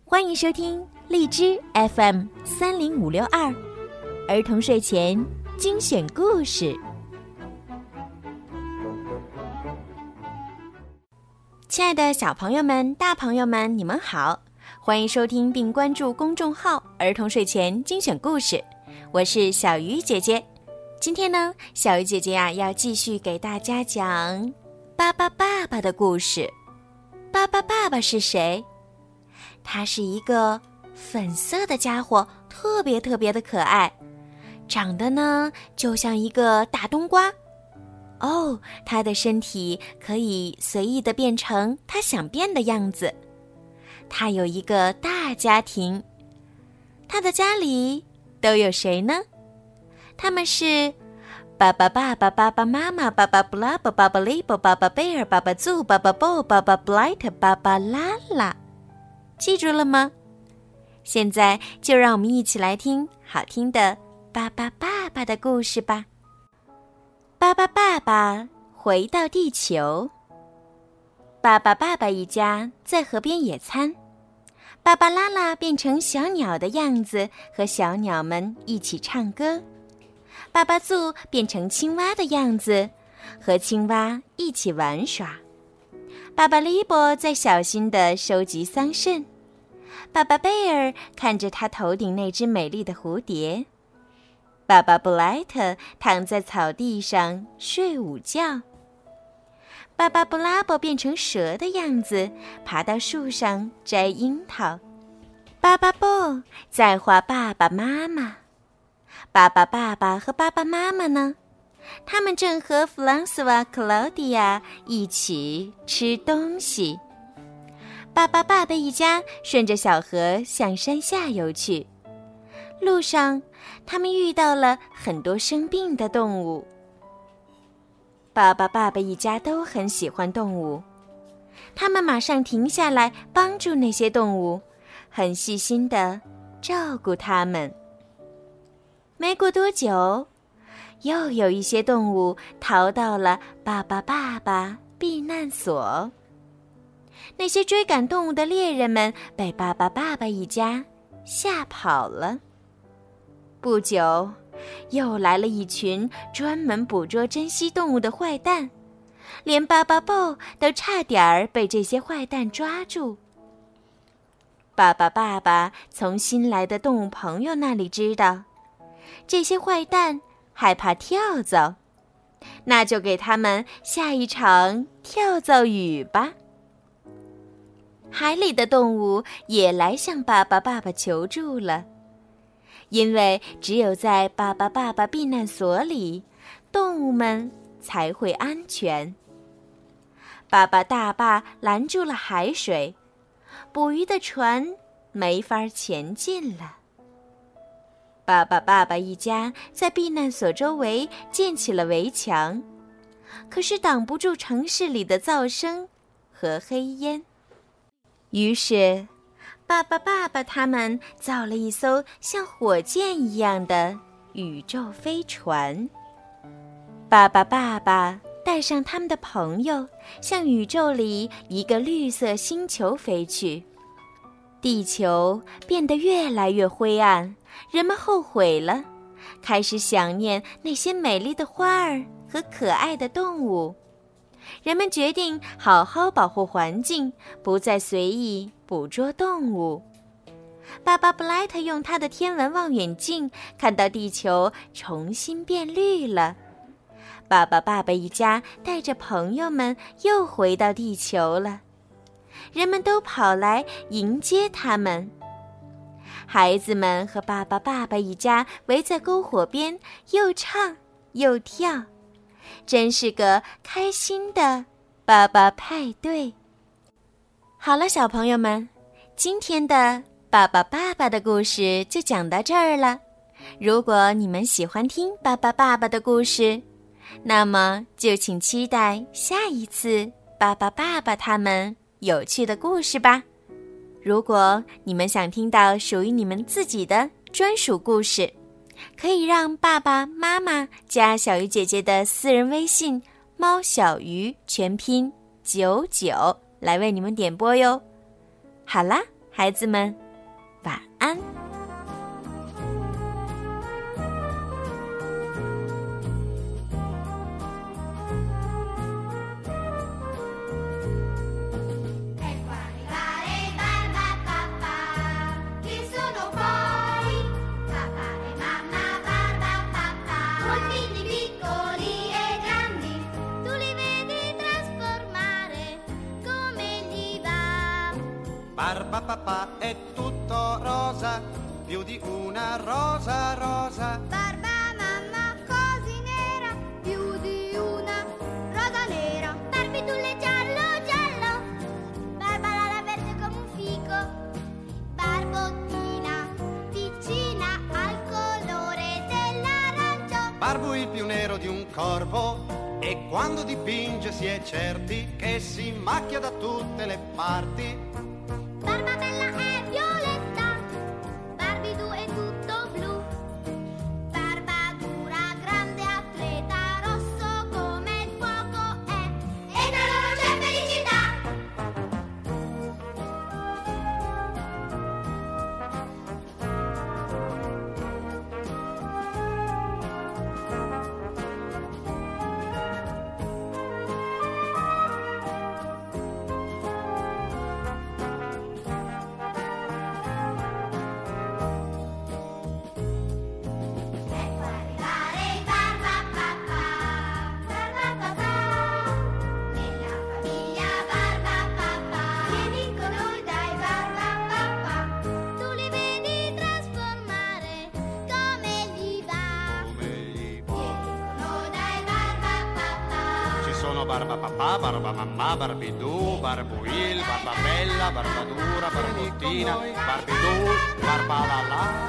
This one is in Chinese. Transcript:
欢迎收听荔枝 FM30562儿童睡前精选故事。亲爱的小朋友们、大朋友们，你们好，欢迎收听并关注公众号儿童睡前精选故事，我是小鱼姐姐。今天呢，小鱼姐姐要继续给大家讲巴巴爸爸的故事。巴巴爸爸是谁？他是一个粉色的家伙，特别的可爱，长得呢就像一个大冬瓜。他的身体可以随意地变成他想变的样子。他有一个大家庭，他的家里都有谁呢？他们是爸爸爸爸、爸爸妈妈、爸爸布拉巴、爸爸利伯、爸爸贝尔、爸爸祖、爸爸布、爸爸布莱特、爸爸拉拉。记住了吗？现在就让我们一起来听好听的巴巴爸爸的故事吧。巴巴爸爸回到地球。巴巴爸爸一家在河边野餐，爸爸拉拉变成小鸟的样子，和小鸟们一起唱歌。爸爸祖变成青蛙的样子，和青蛙一起玩耍。爸爸利伯在小心地收集桑葚，爸爸贝尔看着他头顶那只美丽的蝴蝶。爸爸布莱特躺在草地上睡午觉。爸爸布拉伯变成蛇的样子，爬到树上摘樱桃。爸爸布在画爸爸妈妈。爸爸爸爸和爸爸妈妈呢？他们正和弗朗索瓦、克劳迪亚一起吃东西。爸爸爸爸一家顺着小河向山下游去。路上，他们遇到了很多生病的动物。爸爸爸爸一家都很喜欢动物，他们马上停下来帮助那些动物，很细心地照顾它们。没过多久，又有一些动物逃到了爸爸爸爸避难所。那些追赶动物的猎人们被爸爸爸爸一家吓跑了。不久，又来了一群专门捕捉珍稀动物的坏蛋，连巴巴布都差点被这些坏蛋抓住。爸爸爸爸从新来的动物朋友那里知道，这些坏蛋害怕跳蚤，那就给他们下一场跳蚤雨吧。海里的动物也来向爸爸爸爸求助了，因为只有在爸爸爸爸避难所里，动物们才会安全。爸爸大坝拦住了海水，捕鱼的船没法前进了。爸爸爸爸一家在避难所周围建起了围墙，可是挡不住城市里的噪声和黑烟。于是爸爸爸爸他们造了一艘像火箭一样的宇宙飞船。爸爸爸爸带上他们的朋友，向宇宙里一个绿色星球飞去。地球变得越来越灰暗，人们后悔了，开始想念那些美丽的花儿和可爱的动物。人们决定好好保护环境，不再随意捕捉动物。爸爸布莱特用他的天文望远镜看到地球重新变绿了。爸爸爸爸一家带着朋友们又回到地球了，人们都跑来迎接他们。孩子们和爸爸爸爸一家围在篝火边，又唱又跳，真是个开心的爸爸派对。好了，小朋友们，今天的爸爸爸爸的故事就讲到这儿了。如果你们喜欢听爸爸爸爸的故事，那么就请期待下一次爸爸爸爸他们有趣的故事吧。如果你们想听到属于你们自己的专属故事，可以让爸爸妈妈加小鱼姐姐的私人微信猫小鱼全拼99来为你们点播哟。好啦， 孩子们，晚安。 Barba papà è tutto rosa, più di una rosa rosa. Barba mamma così nera, più di una rosa nera. Barbitulle giallo giallo, Barbara verde come un fico. Barbottina vicina al colore dell'arancio. Barbu il più nero di un corvo, e quando dipinge si è certi che si macchia da tutte le parti. Barba bella è violetta, Barbidu è tutto blu. Barba dura, grande atleta, rosso come il fuoco è. E tra loro c'è felicità. Barba papà, barba mamma, Barbidù, Barbuil, barba bella, barba dura, barbottina, Barbidù, barba la la.